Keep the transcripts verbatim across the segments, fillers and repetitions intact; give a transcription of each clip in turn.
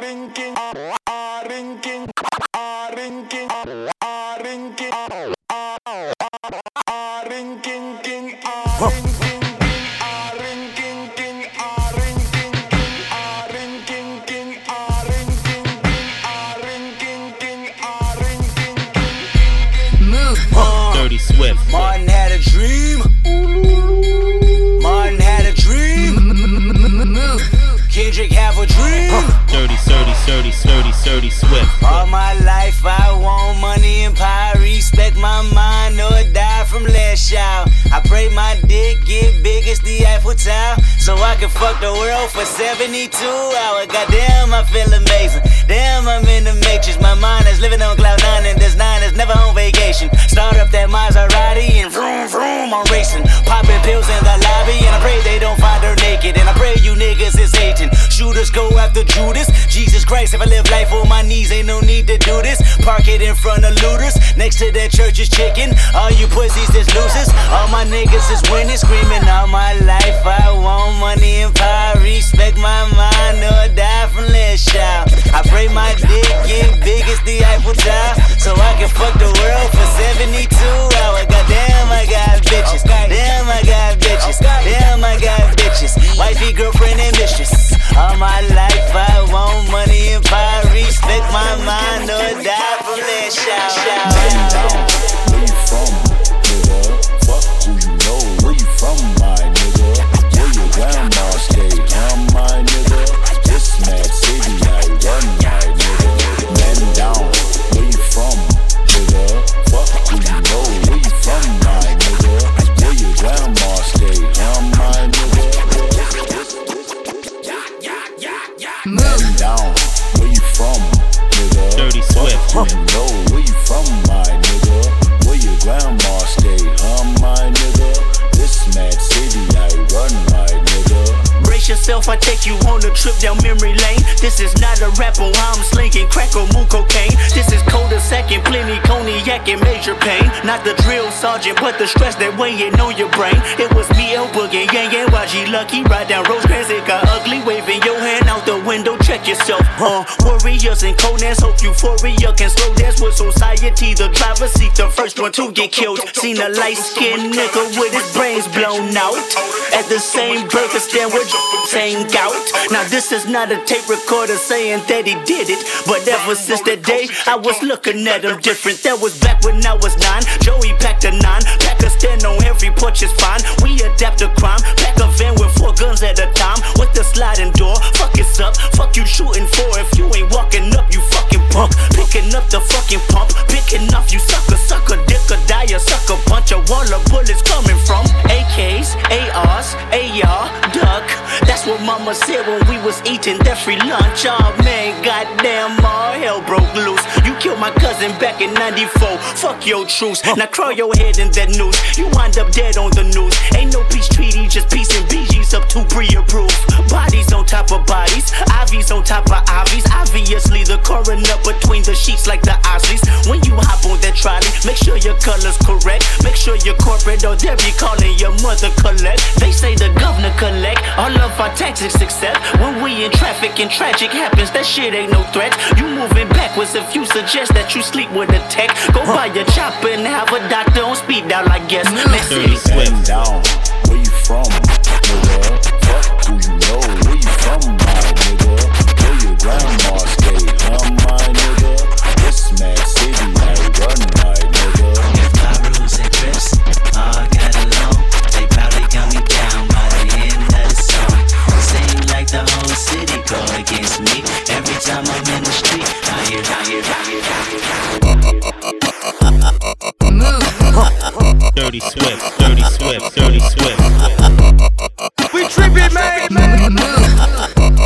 rinking, ah rinking, ah rinking, ah rinking, ah rinking, king, ah rinking, ah rinking, king, ah rinking, ah rinking, king, ah rinking, ah rinking, king, ah rinking. Move. Dirty Swift. Martin had a dream. Martin had a dream. Move. Kendrick have a dream. Dirty, dirty, dirty, dirty, dirty Swift. All my life I want money and power. Respect my mind or die from last child. I pray my dick get big as the Eiffel Tower, so I can fuck the world for seventy-two hours. Goddamn, I feel amazing. Damn, I'm in the matrix. My mind is living on cloud nine, and this nine is never on vacation. Start up that Maserati and vroom vroom, I'm racing. Popping pills in the lobby, and I pray they don't find her naked. And I pray you niggas is hating. Shooters go after Judas. Jesus Christ, if I live life on my knees, ain't no need to do this. Park it in front of looters. Next to that church is chicken. All you pussies is losers. All my niggas is winning, screaming all my life. I want money and power. Respect my mind or die from last child. I pray my dick get big as the Eiffel Tower, so I can fuck the world for seventy-two hours. Goddamn, I got bitches. Damn, I got bitches. Damn, I got bitches. Wifey, girlfriend, and mistress. All my life I want money and power. Respect my mind or die from last child. Where you from, nigga? Fuck who you know. Where you from, my nigga? Where your grandma stay? I'm my nigga. This mad city I run, my nigga. Man down. Where you from, nigga? Fuck who you know. Where you from, my nigga? Where your grandma stay? I'm my nigga. Man down. Where you from, nigga? Dirty Swift. Fuck who you know. Where you from, my nigga? Where your grandma stay? I'm my nigga. This mad city I run, my nigga. Brace yourself, I take you on a trip down memory lane. This is not a rapper, I'm slinging crack or moon cocaine. This is cold as second, plenty cognac and major pain. Not the drill sergeant, but the stress that weighing on your brain. It was me, El Boogie, Yang Yang, Y G Lucky. Ride down Rosecrans, it got ugly. Waving your hand out the window, check yourself. Uh, warriors and Conans, hope euphoria can slow dance with society. The driver seat, the first one to get killed. Seen a light-skinned nigga with his brains blown out at the same burger stand with saying gout. Now this is not a tape recorder saying that he did it, but ever since that day I was looking at him different. That was back when I was nine. Joey packed a nine, pack a stand on every porch is fine. We adapt to crime, pack a van with four guns at a time with the sliding door. Fuck it's up, fuck you shooting for. If you ain't walking up, you fucking punk. Picking up the fucking pump, picking off you sucker, sucker, dick or die, a sucker punch. A wall of bullets coming from A Ks, A Rs, A R, duck. That's what mama said when we was eating that free lunch. Oh man, goddamn, all hell broke loose. You killed my cousin back in ninety-four. Fuck your truce. Now crawl your head in that noose. You wind up dead on the news. Ain't no peace treaty, just peace and B Gs up to pre-approved. Bodies on top of bodies, I Vs on top of I Vs. Obviously the coroner between the sheets like the Osleys. When you hop on that trolley, make sure your color's correct. Make sure you're corporate or they'll be calling your mother collect. They say the governor collect all of our taxes except when we in traffic and tragic happens. That shit ain't no threat. You moving backwards if you suggest that you sleep with a tech. Go buy your chopper and have a doctor on speed dial, I guess. Dirty Swift. Man down. Where you from, nigga? Fuck who you know. Where you from, my nigga? Where your grandma stay? I'm my nigga. This mad city I run, my nigga. If my rules and grips all got along, they probably got me down by the end of the song. Seem like the whole city go against me. Every time I'm in the street, I hear, I hear, I hear, I hear. Dirty Swift. Dirty Swift. Dirty Swift. We trippin', man. Move.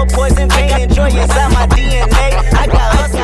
power, poison, pain, and joy inside my D N A. I got hustle,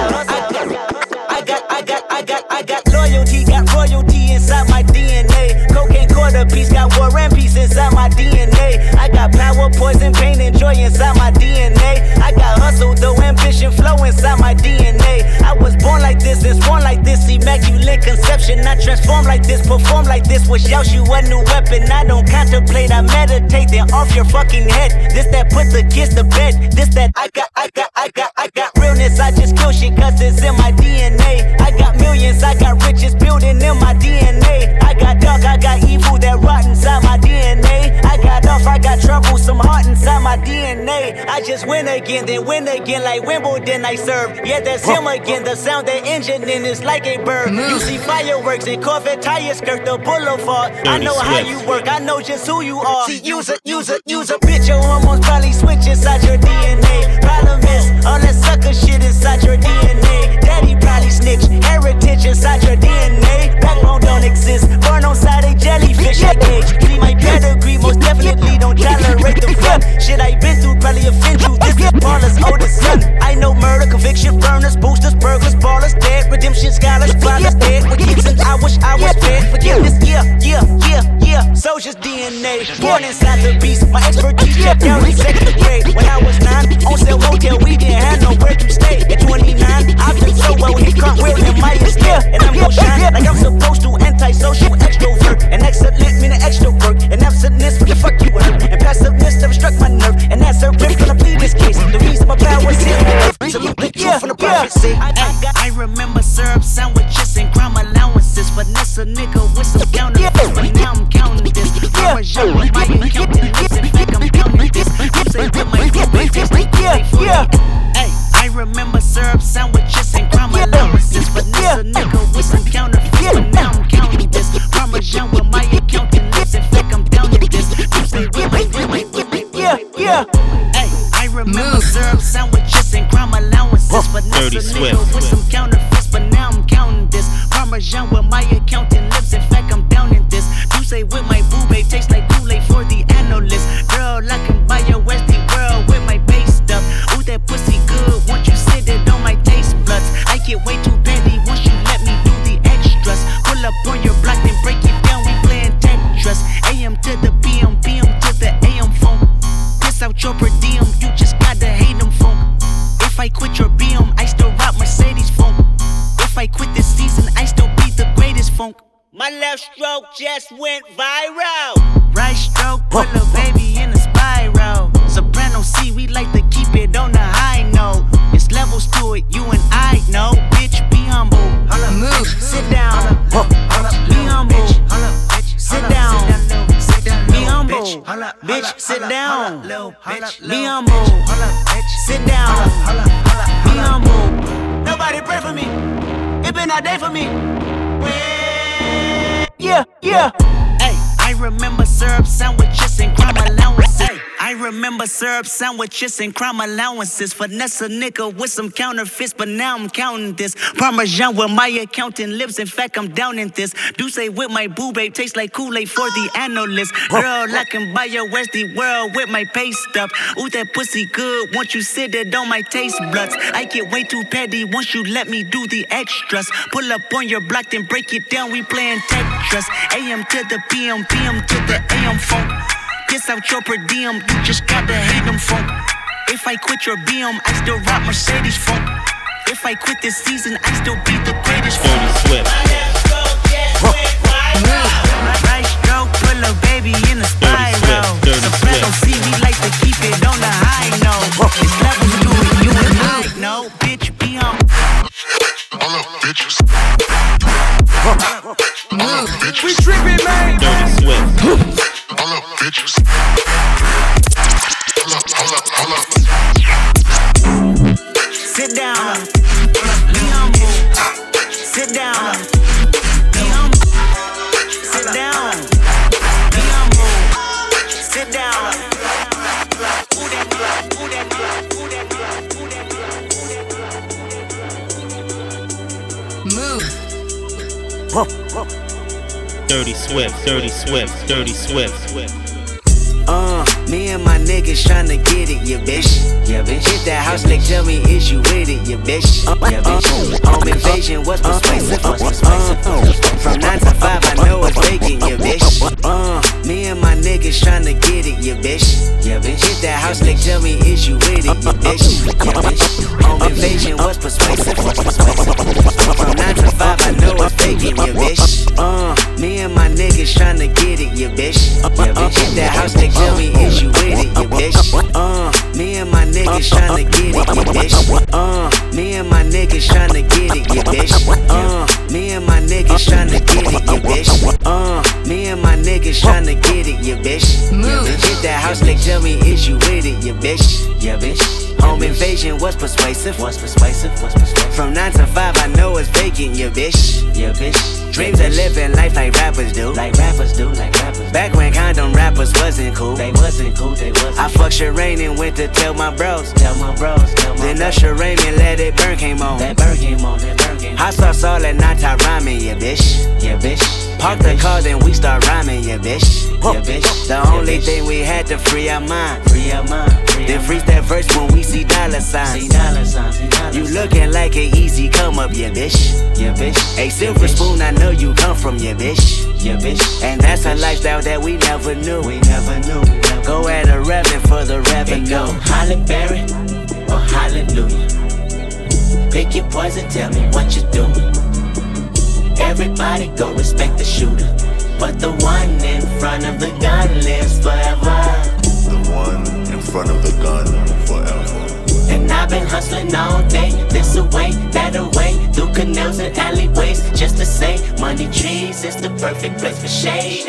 I got, I got, I got, I got loyalty, got royalty inside my D N A. Cocaine quarter piece, got war and peace inside my D N A. I got power, poison, pain, and joy inside my D N A. I got hustle, though ambition, flow inside my D N A. I was born like this, and born like this, immaculate conception. I transform like this, perform like this, wish out you a new weapon. I don't contemplate, I meditate, then off your fucking head. This that put the kids to bed. This that I got, I got, I got, I got realness. I just kill shit cause it's in my D N A. I got millions, I got riches building in my D N A. I got dark, I got evil that rot inside my D N A. I got off, I got trouble, some heart inside my D N A. I just win again, then win again like Wimbledon I serve. Yeah, that's him again, the sound that engine in is like a bird. You see fireworks and Corvette tires skirt the boulevard. I know how you work, I know just who you are. See, use a, use a, use a bitch, your hormones probably switch inside your D N A. Problem is, all that sucker shit inside your D N A. Daddy probably snitch, heritage inside your D N A. Backbone don't exist, burn on side a jellyfish I gauge. See my pedigree, most definitely don't tolerate the fun. Shit I been through probably offend you, this is Paula's oldest son. I know murder, conviction, burners, boosters, burglars, ballers, dead, redemption, scholars, fathers, dead. With kids and I wish I was fed. Forgiveness, yeah, yeah, yeah, yeah. Soldier's D N A, born inside the beast. My expertise checked out in second grade. When I was nine, on sale motel, we didn't have nowhere to stay. At twenty-nine, I've been so well, hit cartwheel in my estate. And I'm gon' shine like I'm supposed to. Antisocial extrovert, and excellent meaning extra work. And absentness, what the fuck you hurt? And passiveness never struck my nerve. And that's a rip gonna plead this case. The reason my power's here. Salute the truth from the prophecy. I, I, I remember syrup sandwiches and crime allowances. Vanessa nigga with some counterfeits, but now I'm counting this. Parmesan with my accountant lips. In fact, I'm counting this. You say with my group, just like yeah, yeah. Hey, I remember syrup sandwiches and crime allowances. Vanessa nigga with some counterfeits, but now I'm counting this. Parmesan with my accountant lips. In fact, I'm down in this. You say with my with my with my yeah, yeah. Hey, I remember syrup sandwiches and crime allowances. Vanessa nigga with some counterfeits, but now I'm counting this. Parmesan with my accountant lips. In fact, I'm down in this. You say with my boo babe tastes like Kool-Aid for the analyst. Girl, I can buy your Westie world with my base stuff. Ooh, that pussy good. Once you sit it on my taste buds, I get way too petty once you let me do the extras. Pull up on your block and break it down. We playing Tetris. A M to the P M, P M to the A M phone. Piss out your per diem. You just gotta hate them phone. If I quit your B M, I still rock Mercedes phone. If I quit this season, I still be the greatest funk. My left stroke just went viral. Right stroke, put a baby in a spiral. Soprano C, we like to keep it on the high note. It's levels to it, you and I know. Bitch, be humble. Move, sit down. Be humble. Sit down. Be humble. Bitch, sit down. Be humble. Sit down. Be humble. Nobody pray for me. It been a day for me. Yeah, yeah. Hey, I remember syrup sandwiches and crime allowances. I remember syrup sandwiches and crime allowances. Vanessa nigga with some counterfeits, but now I'm counting this. Parmesan with my accountant lips. In fact, I'm down in this. Do say with my boo babe tastes like Kool-Aid for the analyst. Girl, I can buy your Westie world with my pay stuff. Ooh, that pussy good. Once you sit it on my taste buds, I get way too petty once you let me do the extras. Pull up on your block, then break it down. We playing Tetris. A M to the P M, P M to the A M phone. Piss out your per diem, you just gotta hate them funk. If I quit your B M, I still rock Mercedes funk. If I quit this season, I still be the greatest funk. Right stroke, pull a baby in a spiral. Soprano C, we like to keep it on the high note. It's levels to it, you and I know. Bitch, be humble. All up, bitches. All up, bitches. We trippin', man. Dirty Swift. All up, bitches. Hold up, hold up, hold up. Sit down. Be humble. Sit down. Be humble. Sit down. Be humble. Sit down. Ooh, that, ooh, that, ooh, that, ooh, that. Move. Dirty Swift, Dirty Swift, Dirty Swift. Uh. Me and my niggas tryna get it, yeah, bitch. Yeah, bitch. Hit that house, like, tell me, is you with it, yeah, bitch. Yeah, bitch. Home invasion was persuasive. From nine to five, I know it's vacant, yeah, bitch. Uh, me and my niggas tryna get it, yeah, bitch. Yeah, bitch. Hit that house, like, tell me, is you with it, yeah, bitch. Yeah, bitch. Home invasion was persuasive. From nine to five, I know it's vacant, yeah, bitch. Uh, me and my niggas tryna get it, yeah, bitch. Yeah, bitch. Hit that house, like, tell me, is you with it, yeah, bitch. Uh, me and my niggas tryna get it, yeah, bitch. Uh, me and my niggas tryna get it, yeah, bitch. Uh, me and my niggas tryna get it, yeah, bitch. Uh, me and my niggas tryna get it, yeah, bitch. Yeah, bitch. Hit that house, like, tell me, is you with it, yeah, bitch. Yeah, bitch. Home invasion was persuasive. Was persuasive. Was persuasive. From nine to five, I know it's vacant, yeah, bitch. Yeah, bitch. Dreams of living life like rappers do. Like rappers do. Like rappers. Back when condom rappers wasn't cool. They wasn't cool. They wasn't. I fucked Shireen and went to tell my bros. Tell my bros. Tell my then Usher Raymond let it burn came on. That burn came on. That burn came on. Hot sauce all at night time rhyming, yeah, bitch. Yeah, bitch. Park the car, then we start rhyming, yeah, bitch. Yeah, bitch. The only thing we had to free our mind. Free our mind. Then freeze that verse when we see dollar signs. See dollar signs. You looking like an easy come up, yeah, bitch. Yeah, bitch. A silver spoon, I know you come from, yeah, bitch. Yeah, bitch. And that's a lifestyle that we never knew. We never knew. Go at a revenue for the revenue. Go Halle Berry or Hallelujah. Pick your poison, tell me what you doing. Everybody go respect the shooter, but the one in front of the gun lives forever. The one in front of the gun forever. And I've been hustling all day, this away, that away, through canals and alleyways, just to say, money trees is the perfect place for shade.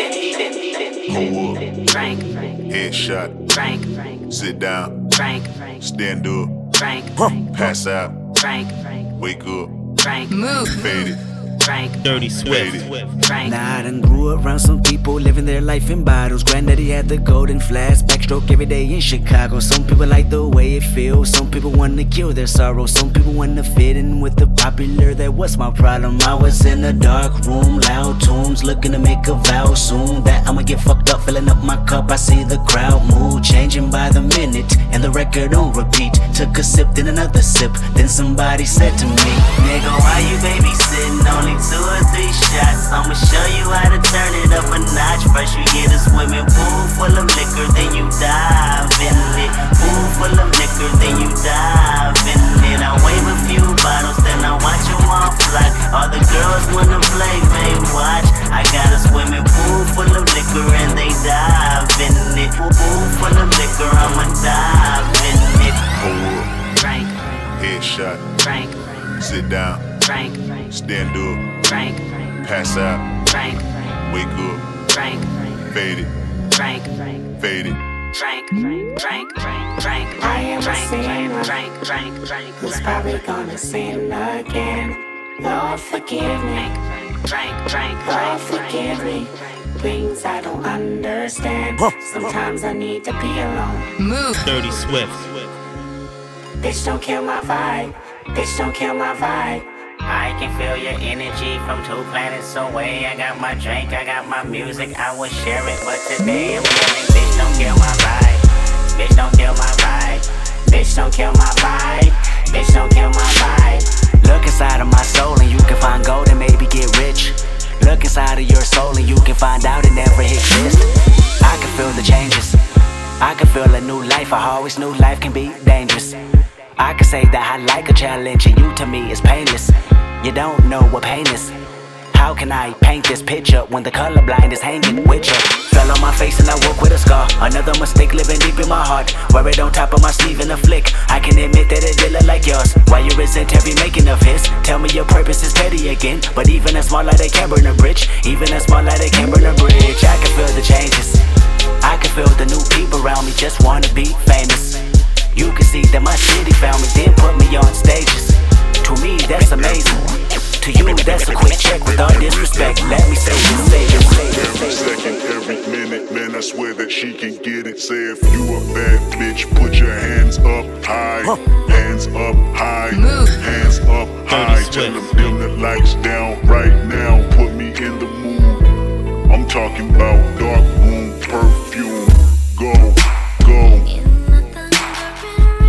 Pull up, Frank, headshot, Frank, sit down, Frank, stand up, Frank, pass out, Frank, wake up, Frank, fade it, Frank, Dirty Swift. Frank. Now I done grew around some people living their life in bottles. Granddaddy had the golden flask, backstroke every day in Chicago. Some people like the way it feels, some people wanna kill their sorrow. Some people wanna fit in with the popular, that was my problem. I was in a dark room, loud tunes, looking to make a vow soon that I'ma get fucked up, filling up my cup. I see the crowd mood changing by the minute, and the record on repeat. Took a sip, then another sip, then somebody said to me, Nigga, why you babysitting? Only two or three shots. I'ma show you how to turn it up a notch. First you get a swimming pool full of liquor, then you dive in it. Pool full of liquor, then you dive in it. I wave a few bottles, then I watch you all fly. All the girls wanna play, they watch. I got a swimming pool full of liquor and they dive in it. Pool full of liquor, I'ma dive in it. pull up, Frank, headshot, Frank, sit down, Frank, stand up, Frank, pass out, Frank, wake up, Frank, fade it, Frank, fade it. Frank, Frank, Frank, Frank, Frank, I am a Frank, sinner Frank, Frank, Frank, who's probably gonna sin again. Lord, forgive me. Frank, Frank, Lord, Frank, forgive me. Things I don't understand. Sometimes I need to be alone. Dirty Swift. Bitch, don't kill my vibe. Bitch, don't kill my vibe. I can feel your energy from two planets away. I got my drink, I got my music, I would share it, but today I'm feeling, bitch, don't kill my vibe. Bitch, don't kill my vibe. Bitch, don't kill my vibe. Bitch, don't kill my vibe. look inside of my soul and you can find gold and maybe get rich. Look inside of your soul and you can find out it never exists. I can feel the changes, I can feel a new life. I always knew life can be dangerous. I can say that I like a challenge and you to me is painless. You don't know what pain is. How can I paint this picture when the colorblind is hanging with you? Fell on my face and I woke with a scar. Another mistake living deep in my heart. Wear it on top of my sleeve in a flick. I can admit that it did look like yours. Why you resent every making of his? Tell me your purpose is petty again. But even a small light, they can burn a bridge. Even a small light, they can burn a bridge. I can feel the changes. I can feel the new people around me just wanna be famous. You can see that my city found me, then put me on stages. To me, that's amazing. To you, that's a quick check with all disrespect. Let me say this, say this, say this, Every say this. second, every minute, man, I swear that she can get it. Say if you a bad bitch, put your hands up high. Hands up high. Hands up high. Tell them dim the lights down right now. Put me in the mood. I'm talking about dark room perfume. Go.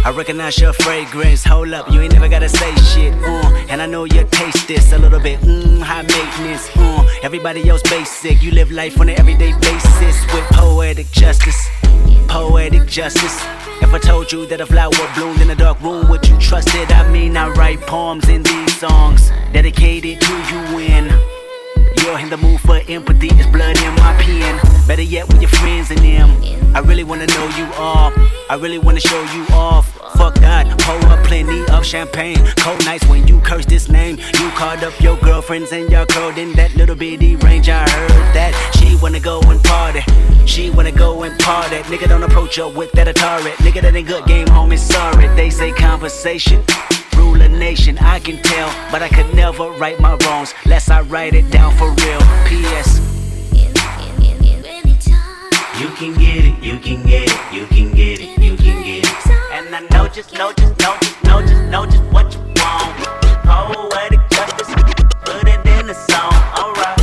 I recognize your fragrance. Hold up, you ain't never gotta say shit. Uh, and I know you taste this a little bit. Mmm, high maintenance. Uh, everybody else basic. You live life on an everyday basis with poetic justice. Poetic justice. If I told you that a flower bloomed in a dark room, would you trust it? I mean, I write poems in these songs dedicated to you when you're in the mood for empathy. It's blood in my pen. Better yet with your friends and them. I really wanna know you all. I really wanna show you off. Fuck that, pour up plenty of champagne. Cold nights when you curse this name. You called up your girlfriends and y'all curled in that little bitty range. I heard that she wanna go and party. She wanna go and party. Nigga, don't approach her with that Atari. Nigga, that ain't good game, homie, sorry. They say conversation rule a nation, I can tell, but I could never right my wrongs lest I write it down for real. P S You can get it, you can get it, you can get it, you can get it. And I know just, know just, know just, know just, know just what you want. Poetic justice, put it in the song, alright.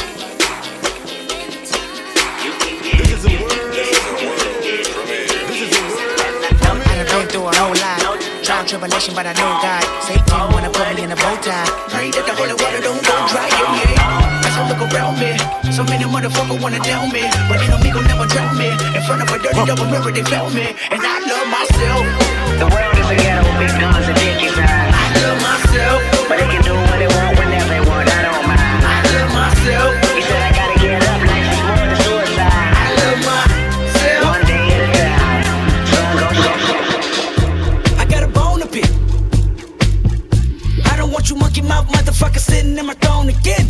You can get it, you can get it, you can get it. I done been through a whole lot. Trial, tribulation, but I know God. Satan wanna put me in a bow tie. Pray that the holy water don't go dry, yeah, yeah. As I look around me, so many motherfuckers wanna down me, but they know me gon' never drown me. In front of a dirty double mirror, they found me, and I love myself. The world is a ghetto with big guns and dick inside. I love myself, but they can do what they want whenever they want. I don't mind. I love myself. He said I gotta get up, like it's more than suicide. I love myself. One day at a time. Sun gon' shine. I got a bone to pick. I don't want you monkey mouth motherfucker sitting in my throne again.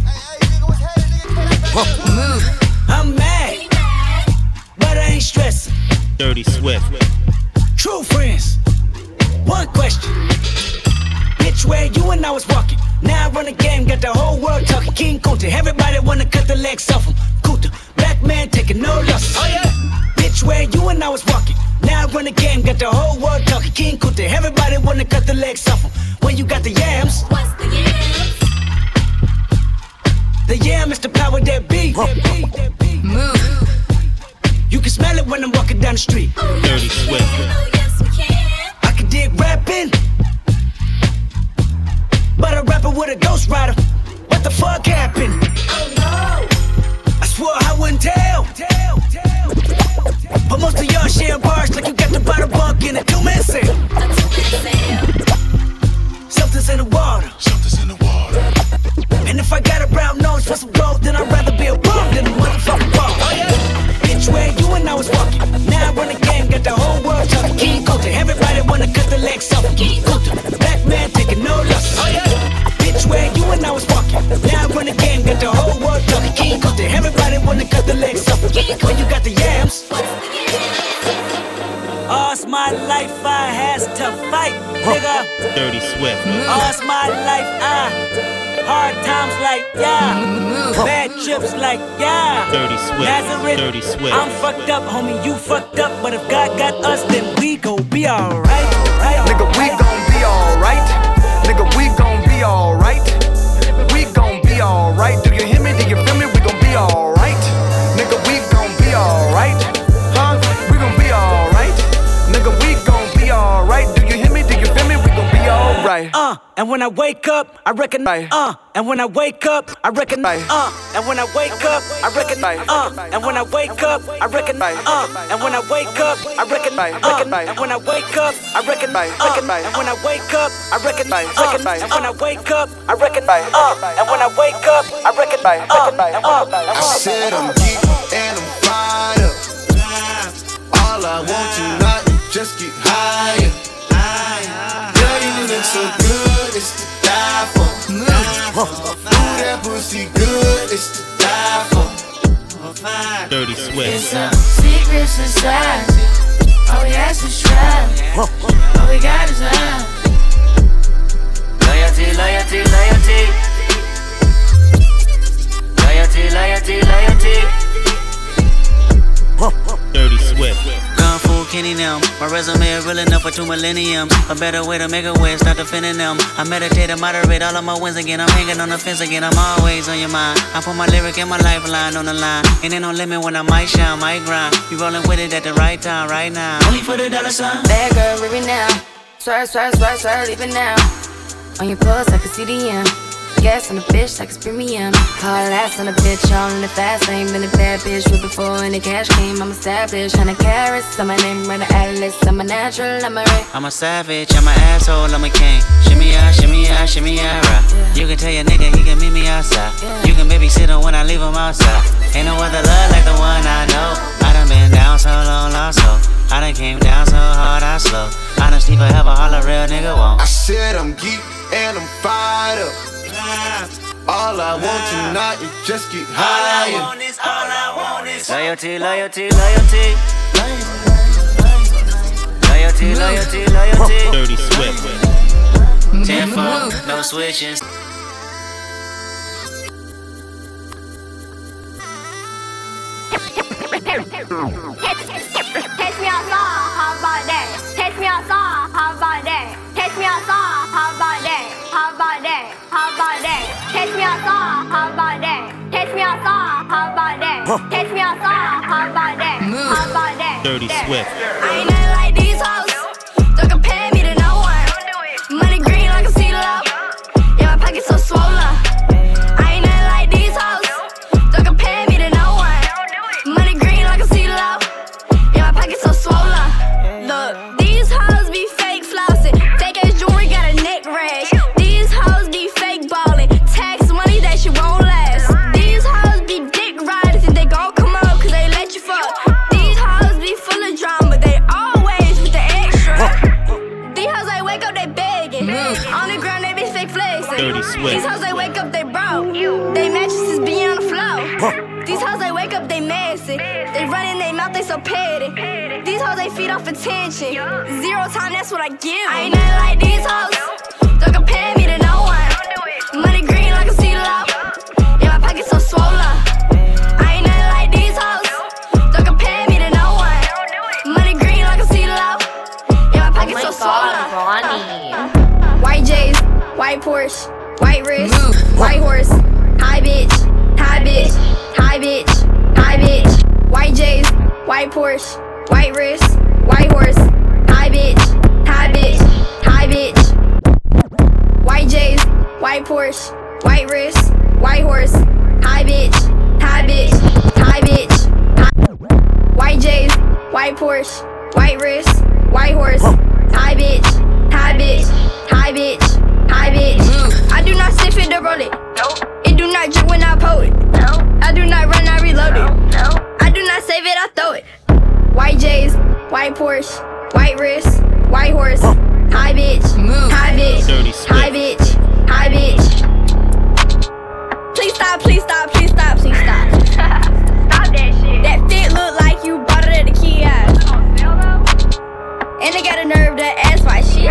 Move. I'm mad, but I ain't stressing. Dirty Swift. True friends. One question. Bitch, where you and I was walking. Now I run the game, got the whole world talking. King Kunta, everybody wanna cut the legs off him. Kunta, black man taking no losses. Oh yeah. Bitch, where you and I was walking. Now I run the game, got the whole world talking. King Kunta, everybody wanna cut the legs off him. When you got the yams. What's the yams? The yam is the power that be. Move. You can smell it when I'm walking down the street. Dirty Swift. Oh, yes, we can. I can dig rapping, but a rapper with a ghost rider. What the fuck happened? Oh, no. I swore I wouldn't tell. But most of y'all share bars like you got the bottle bunk in a two-man sale. Something's in the water. Something's in the water. And if I got a brown nose for some gold, then I'd rather be a bum than a motherfucking bum. Oh, yeah. Bitch, where you and I was walking. Now I run the game, got the whole world talking. King Kunta, everybody wanna cut the legs off. King Kunta, black man taking no losses. Oh, yeah. Bitch, where you and I was walking. Now I run the game, got the whole world talking. King Kunta, everybody wanna cut the legs off. When you got the yams. All's my life I has to fight, nigga. Dirty Swift. All's my life I hard times like yeah, bad trips like yeah. Dirty Swift. Nazareth, Dirty Swift. I'm fucked up, homie, you fucked up. But if God got us, then we gon' be alright. Nigga, we gon' be alright. Nigga, we gon' be alright. We gon' be alright. Do you hear me? Do you feel me? We gon' be alright. Nigga, we gon' be alright. Huh? We gon' be alright. Nigga, we gon' be alright. Do you hear me? Do you feel me? We gon' be alright. Uh, and when I wake up, I recognize. Uh, and when I wake up, I recognize. Uh, and when I wake up, I recognize. Uh, and when I wake up, I recognize. Uh, and when I wake up, I recognize. Uh, and when I wake up, I recognize. Uh, and when I wake up, I recognize. Uh, and when I wake up, I recognize. Uh, and when I wake up, I recognize. Uh, I said I'm geek and I'm fired up. All I want tonight is just get higher. Girl, you look so good, it's to die for. Ooh, that pussy good, it's to die for. Dirty Swift. It's some secret society. All we ask is try. All we got is love. Loyalty, loyalty, loyalty. Loyalty, loyalty, loyalty. Dirty Swift. Gone full Kenny now. My resume is real enough for two millenniums. A better way to make a way, start defending them. I meditate and moderate all of my wins again. I'm hanging on the fence again, I'm always on your mind. I put my lyric and my lifeline on the line. Ain't no limit when I might shine, might grind. You rolling with it at the right time, right now. Only for the dollar sign. Bad girl, leave it now. Swerve, swerve, swerve, swerve, leave it now. On your pulse, I can see the M. Gas on the bitch like it's premium. Hard ass on the bitch, all in the fast lane. Been a bad bitch with before and the cash came. I'm established, hundred carats on my name, run the atlas. I'm a natural, I'm a ray. I'm a savage, I'm an asshole, I'm a king. Shimmy out, shimmy out, shimmy out, right. Yeah. You can tell your nigga he can meet me outside. Yeah. You can babysit him when I leave him outside. Ain't no other love like the one I know. I done been down so long, lost so. I done came down so hard, I slow. Honesty forever, all a real nigga won't. I said I'm geek and I'm fired up. All I want tonight is just get high. All I want is, all I want is loyalty, loyalty, loyalty. Loyalty, loyalty, loyalty. Dirty Swift. Ten four, no switching. Catch me outside, how about that? Catch me outside, how about that? Catch me outside, how about that? How about that? How about that? Catch me outside, how about that? Catch me outside, how about that? Catch me outside, how about that? How about that? Dirty Swift. I ain't nothing like these hoes. Don't compare me to no one. Money green like a sea love. Yeah, my pocket's so swollen. I ain't nothing like these hoes. Don't compare me to no one. Money green like a sea love. Yeah, my pocket's so swollen. Look, these hoes be fake flossing. Fake ass jewelry got a neck rash. These hoes be fake ballin'. Tax money that shit won't last. These hoes be dick riders and they gon' come out cause they let you fuck. These hoes be full of drama. They always with the extra. These hoes they wake up they begging. On the ground they be fake flexing. Dirty Swift. These hoes they wake up they broke. They mattresses be on the floor. These hoes they wake up they messy. They run in they mouth they so petty. These hoes they feed off attention. Zero time that's what I give. I ain't nothing like these hoes. Don't compare me to no one. Money green like a sea love. Yeah, my pocket's so swollen. I ain't nothing like these hoes. Don't compare me to no one. Money green like a sea love. Yeah, my pocket's so swollen. White J's, white Porsche, white wrist, white horse, high bitch, high bitch, high bitch, high bitch. White J's, white Porsche, white wrist, white horse, high bitch, high bitch, high bitch. White J's, white Porsche, white wrist, white horse, high bitch, high bitch, high bitch. High. White J's, white Porsche, white wrist, white horse, high bitch, high bitch, high bitch, high bitch. I do not sniff it or roll it. It do not drip when I pull it. I do not run, I reload it. I do not save it, I throw it. White J's, white Porsche, white wrist, white horse, high bitch, high bitch, high bitch, high bitch. Please stop, please stop, please stop, please stop. Stop that shit. That fit look like you bought it at the kiosk. And they got a nerve to ask why shit.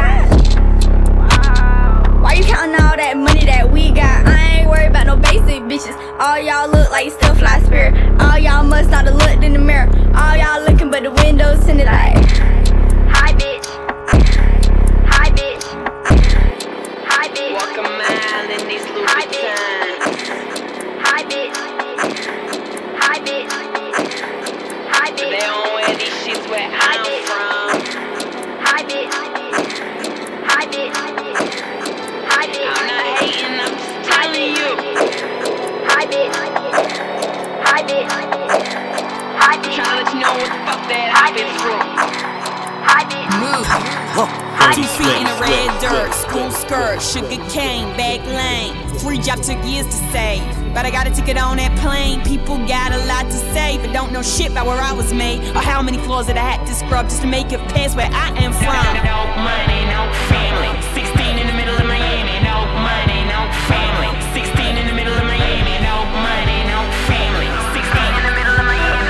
Why you counting all that money that we got? I ain't worried about no basic bitches. All y'all look like still fly spirit. All y'all must not have looked in the mirror. All y'all looking but the windows tinted like. Hi bitch. Hi bitch. Hi bitch. Walk a mile in these Louboutins. Hi bitch. Hi bitch. Hi bitch. They don't wear these shits where I'm from. Hi bitch. Hi bitch. Hi bitch. I'm not hating, I'm just telling you. Hi bitch. Hi bitch. Hi bitch. Trying to let you know what the fuck that I've been through. Hi bitch. Two feet in the red dirt, school skirt, sugar cane, back lane. Free job took years to save, but I got a ticket on that plane. People got a lot to say, but don't know shit about where I was made or how many floors that I had to scrub just to make it past where I am from. No money, no family. Sixteen in the middle of Miami. No money, no family. Sixteen in the middle of Miami. No money, no family. Sixteen in the middle of Miami.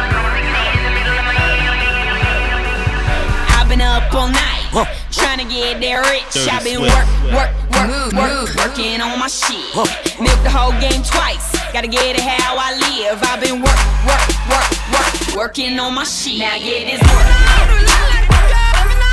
I've been up all night, trying to get there rich. I've been work, work, work, work, working on my shit. Milk the whole game twice, gotta get it how I live. I've been work, work, work, work, working on my shit. Now get this work.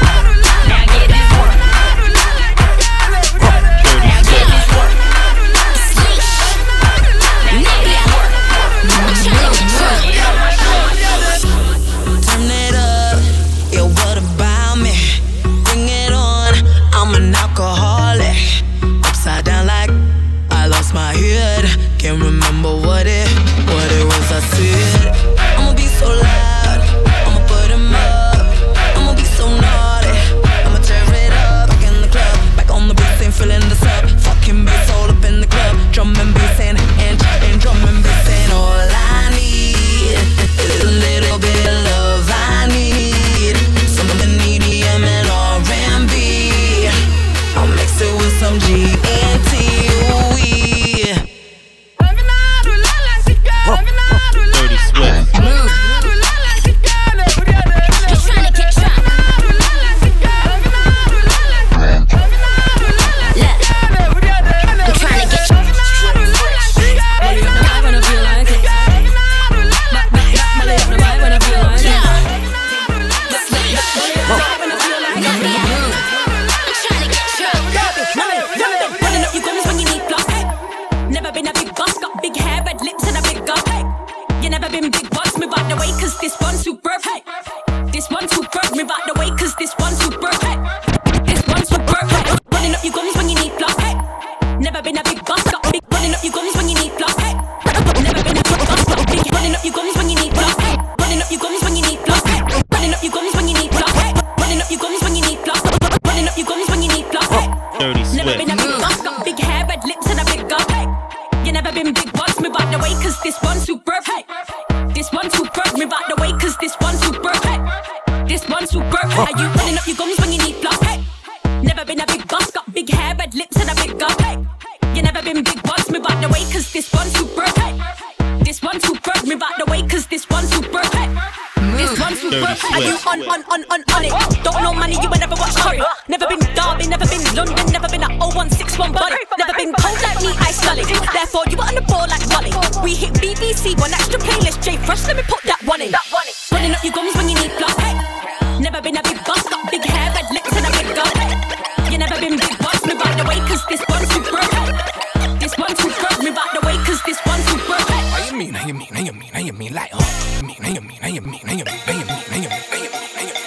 I got me. I'm trying to get you. Running up your gums when you need plus. Never been a big boss, got big hair, red lips and a big gut. You never been big boss, move out the way, cause this one's superb. This one's superb, move out the way, cause this one's superb. This one's superb. Running up your gums when you need plus. Never been a big boss, got big. Running up your gums when you need plus. Never been a big boss, got big. Running up your gums when you need plus. Running up your gums when you need plus. Running up your gums when you need plus. Running up your gums when you need plus. Running up your gums when you need plus. Dirty Swift. Never been a big boss, got big hair, red lips and a big gut. You never been big boss, move out the way, cause this one's superb. This one's superb, move out the way, cause this one's superb. This one's superb. Are you running up your gums when you need plus? Never been a big boss, got big hair, red lips and a big gut. You never been big boss, move out the way, cause this one's superb. This one's superb, move out the way, cause this one's superb. This one's superb. Are you on, on, on, on, on it? Don't know money, you ain't never watched Curry. Never been Derby, never been London, never been a oh one six one body. Never been cold like me, ice gully. Therefore, you were on the ball like Wally. We hit B B C, one extra playlist, J Fresh, let me put that one in. Running up your gums when you need plus. Never been a big boss, got big hair, red lips and a big gut. You never been big boss, move out the way, cause this one's superb. This one's superb, move out the way, cause this one's superb. How you mean, how you mean, how you mean, how you mean, like, oh, you mean, how you mean, how you mean, how you mean, how you mean, how you mean, how you mean, how you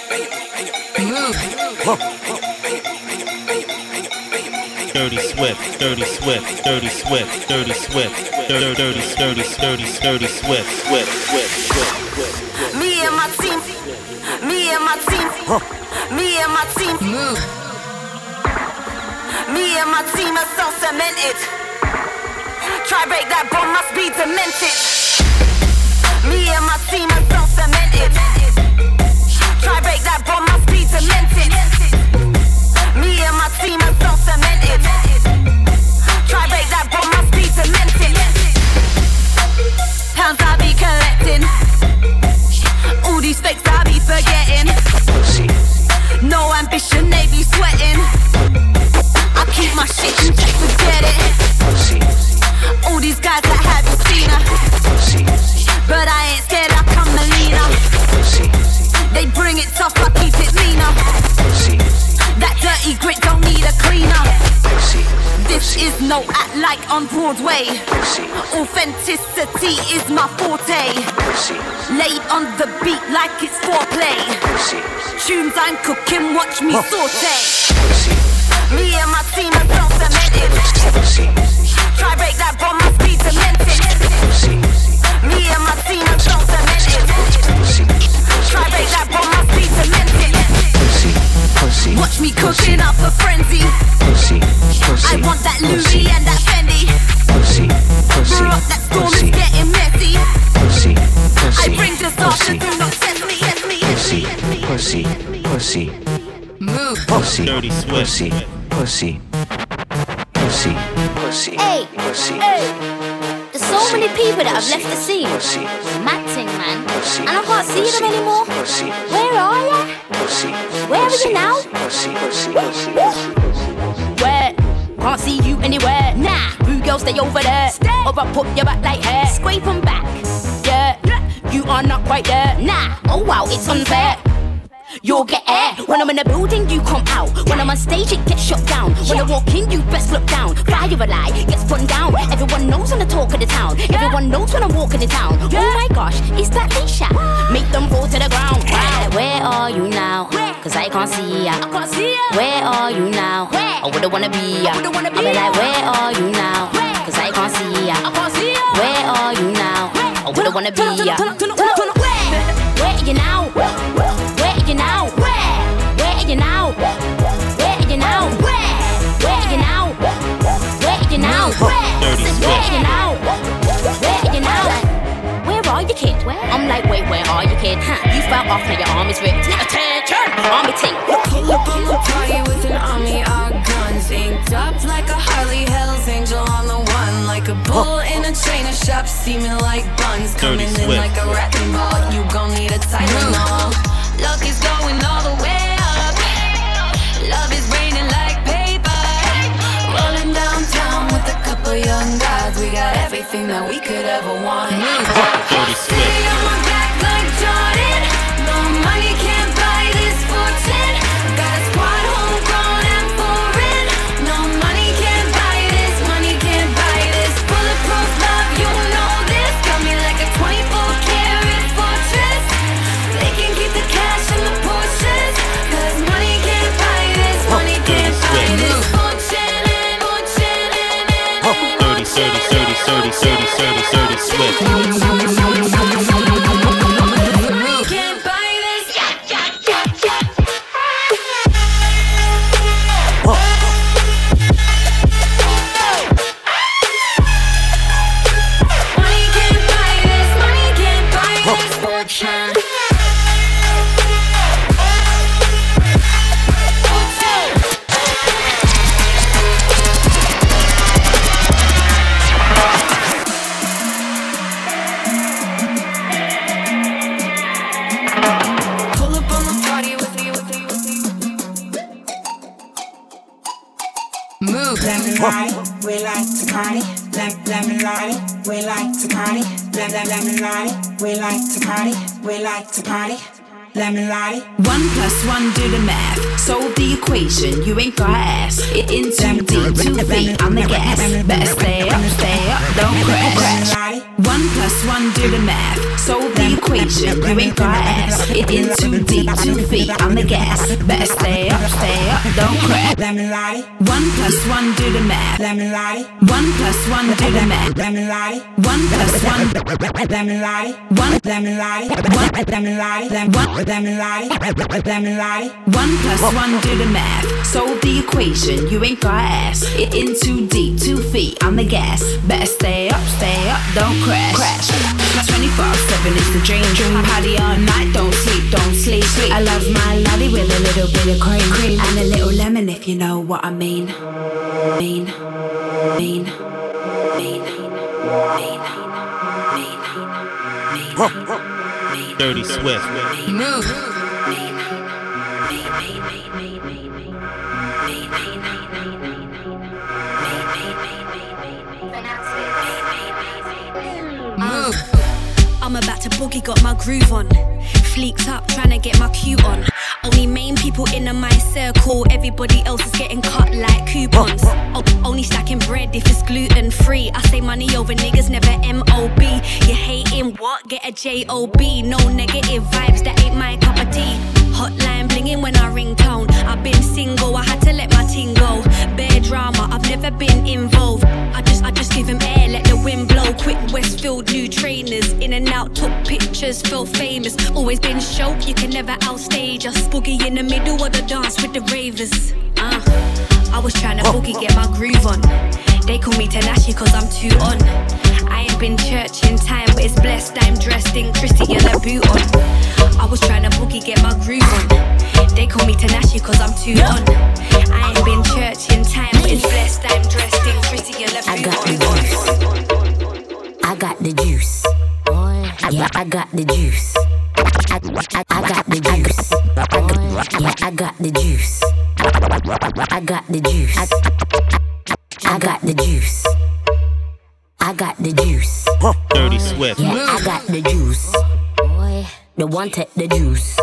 mean, Dirty Swift, Dirty Swift, Dirty Swift, Dirty Swift, Dirty, Dirty, Dirty, Dirty, Dirty Swift, Swift, Swift, Swift. Me and my team, me and my team, me and my team, me and my team are so cemented. Try break that bond, must be demented. Me and my team are so cemented. Try break that bond, must be demented. Me and my team are so cemented. Try break that bond, must be demented. Pounds I be collecting. All these fakes I be forgetting. No ambition, they be sweating. I keep my shit in check, forget it. All these guys that haven't seen her, but I ain't scared like I'm Melina. They bring it tough, I keep it meaner. That dirty grit don't need a cleaner. This is no act like on Broadway. Authenticity is my forte. Laid on the beat like it's foreplay. Tunes I'm cooking, watch me saute. Me and my team are so cemented. Try break that bond, must be demented. Me and my team are so cemented. Try break that bond, must be demented. Watch me cooking up a frenzy. I want that Louis and that Fendi. Brew up that storm, is getting messy. I bring disaster, do not test me, test me, test me. Pussy, pussy, move. Pussy, Dirty Swift. pussy, pussy, pussy, pussy, Hey, pussy. hey. There's so many people that have left the scene. Pussy, Mad thing, man. pussy, And I can't see them anymore. pussy, Where are ya? pussy, Where are you now? pussy, pussy, pussy. Where? Can't see you anywhere. Nah, boo girl, stay over there. Stay. Or I put your back like hair. Scrape 'em back. Yeah, you are not quite there. Nah, oh wow, it's unfair. You'll get air. When I'm in the building, you come out. When I'm on stage, it gets shut down. When I walk in, you best look down. Fire a lie, gets put down. Everyone knows I'm the talk of the town. Everyone knows when I'm walking the town. Oh my gosh, it's that Leisha. Make them fall to the ground. Where, where are you now? Cause I can't see ya. Where are you now? I wouldn't wanna be ya. I'll be like, where are you now? Cause I can't see ya. Where are you now? I wouldn't wanna be ya. Where are you now? Where are you now? Where? Where are you now? Where are you now? Where? Where are you now? Where are you now? Where? Where are you now? Where are you now? Where are you, kid? I'm like, wait, where are you, kid? Huh? You fell off, now your arm is ripped. Attention, army ting. Pull up on the party with an army, our guns inked up like a Harley Hell's Angel on the one, like a bull in a trainer shop, steaming like buns, coming in like a wrecking ball. You gon' need a Tylenol. Luck is going all the way up. Love is raining like paper. Rolling downtown with a couple young guys. We got everything that we could ever want. Stay on my back like Jordan. No money can't buy this fortune. Got a Dirty, dirty, dirty, dirty Swift. Can't buy this. Money can't buy this. Money can't buy this fortune. Lemon lottie, we like to party. Lem lemon lottie, we like to party. Lem lem lemon lottie, we like to party. We like to party. Lemon lottie. One plus one, do the math. Solve the equation. You ain't got ass. It in too deep, two feet on the gas. Better stay up, stay up, don't crash. One plus one, do the math. Solve the equation. You ain't got ass. It in too deep, two feet on the gas. Better stay up, stay up, don't crash. Lemon lottie. One plus one, do the math. Lemon lottie. One plus one, do the math. Lemon lottie. One plus one. Lemon lottie. One lemon lottie. One lemon lottie. One lemon lottie. Lemon lottie. One plus one, do the math. Solve the equation. You ain't got ass. It in too deep, two feet on the gas. Better stay up, stay up, don't crash. Crash. twenty-four seven is the dream. Dream. Party all night, don't sleep, don't sleep. sleep. I love my lolly with a little bit of cream, cream and a little lemon if you know what I mean. Mean, mean, mean, mean, mean, mean. Dirty Swift. Move. Move. I'm about to boogie, got my groove on. Fleeked up, trying to get my cue on. Only main people in my circle, everybody else is getting cut like coupons. O- only stacking bread if it's gluten free. I say money over niggas, never M O B. You hating what? Get a J O B. No negative vibes, that ain't my cup of tea. Hotline blinging when I ring tone. I've been single, I had to let my ting go. Bare drama, I've never been involved. I just, I just give him air, let the wind blow. Quick Westfield, new trainers. In and out, took pictures, felt famous. Always been show, you can never outstage us. Boogie in the middle of the dance with the ravers. Uh, I was trying to boogie, get my groove on. They call me Tanashi cause I'm too on. I ain't been church in time, but it's blessed I'm dressed in Christian a boot on. I was trying to boogie, get my groove on. They call me Tanashi cause I'm too on. I ain't been church in time, but it's blessed I'm dressed in Christian a boot I got the juice. I got the juice. Yeah, I got the juice. I, I, I got the juice. I got, yeah, I got the juice. I got the juice. I, I got the juice. I got the juice. Dirty Swift. Yeah, I got the juice. The one take the juice.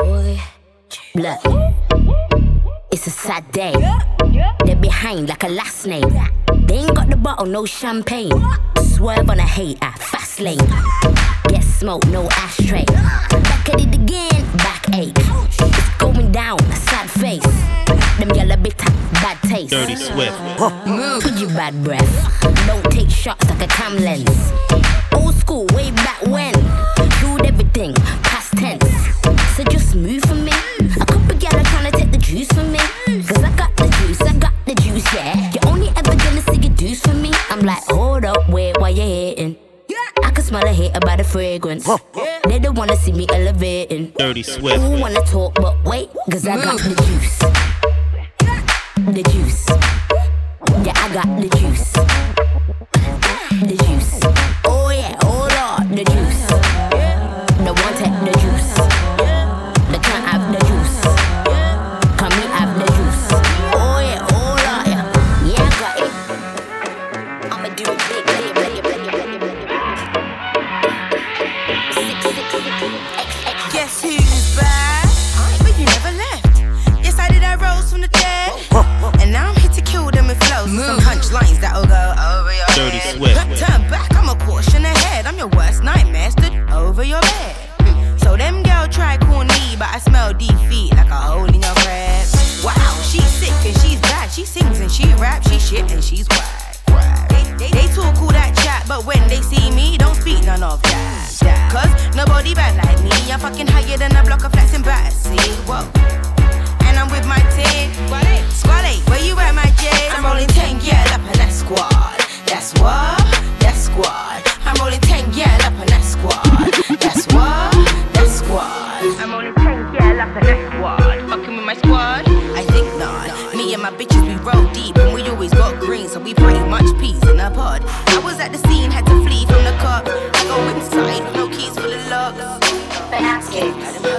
Look, it's a sad day. They're behind like a last name. They ain't got the bottle, no champagne. Swerve on a hater, fast lane. Get smoke, no ashtray. Back at it again, backache. It's going down, sad face. Them yellow bitter, bad taste. Dirty Swift. Move with your bad breath. Don't take shots like a cam lens. Old school, way back when. Ruled everything, past tense. So just move for me. A couple gyal trying to take the juice from me. Cause I got the juice, I got the juice, yeah. You're only ever gonna see your juice from me. I'm like, hold up, wait, why you hating? I can smell a hate about the fragrance. They don't wanna see me elevating. Dirty Swift. Who wanna talk, but wait, cause I got the juice. The juice. Yeah, I got the juice. The juice. Oh yeah, hold on, the juice. The one take the juice. The can't have the juice. Come me have the juice. Oh yeah, hold on, yeah. Yeah, I got it. I'ma do it big, big, big, big, big, big. Six, six, six. Guess who's back? But you never left. Yes, I did. I rose from the dead, and now I'm here to kill them with flows. Some punchlines that'll go over your Dirty head. Swift. Turn back, I'm a caution ahead. I'm your worst nightmare, stood over your bed. So them girl try call me, but I smell defeat like a hole in your bread. Wow, she's sick and she's bad. She sings and she raps, she shit and she's whack. They, they, they talk all that chat, So when they see me, don't speak none of that, that. Cause nobody bad like me. I'm fucking higher than a block of flats in Battersea. Whoa. And I'm with my team. Squad eight, where you at, my J? I'm rolling ten, yeah, up in that squad. That's what, that's squad. I'm rolling ten, yeah, up in that squad. That's what, that's squad. I'm rolling ten, yeah, up in that squad. Fucking with my squad? I think not. Me and my bitches, we roll deep, and we always got green, so we pretty much peas in a pod. I was at the scene, had to flee from the cop. I go inside, no keys for the locks. But ask it,